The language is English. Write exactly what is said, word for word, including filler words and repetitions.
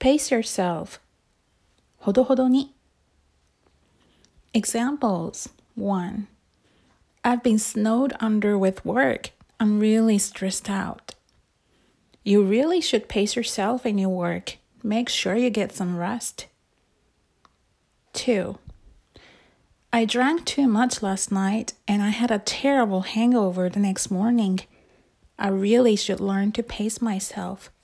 Pace yourself. ほどほどに。Examples. one. I've been snowed under with work. I'm really stressed out. You really should pace yourself in your work. Make sure you get some rest. two. I drank too much last night and I had a terrible hangover the next morning. I really should learn to pace myself.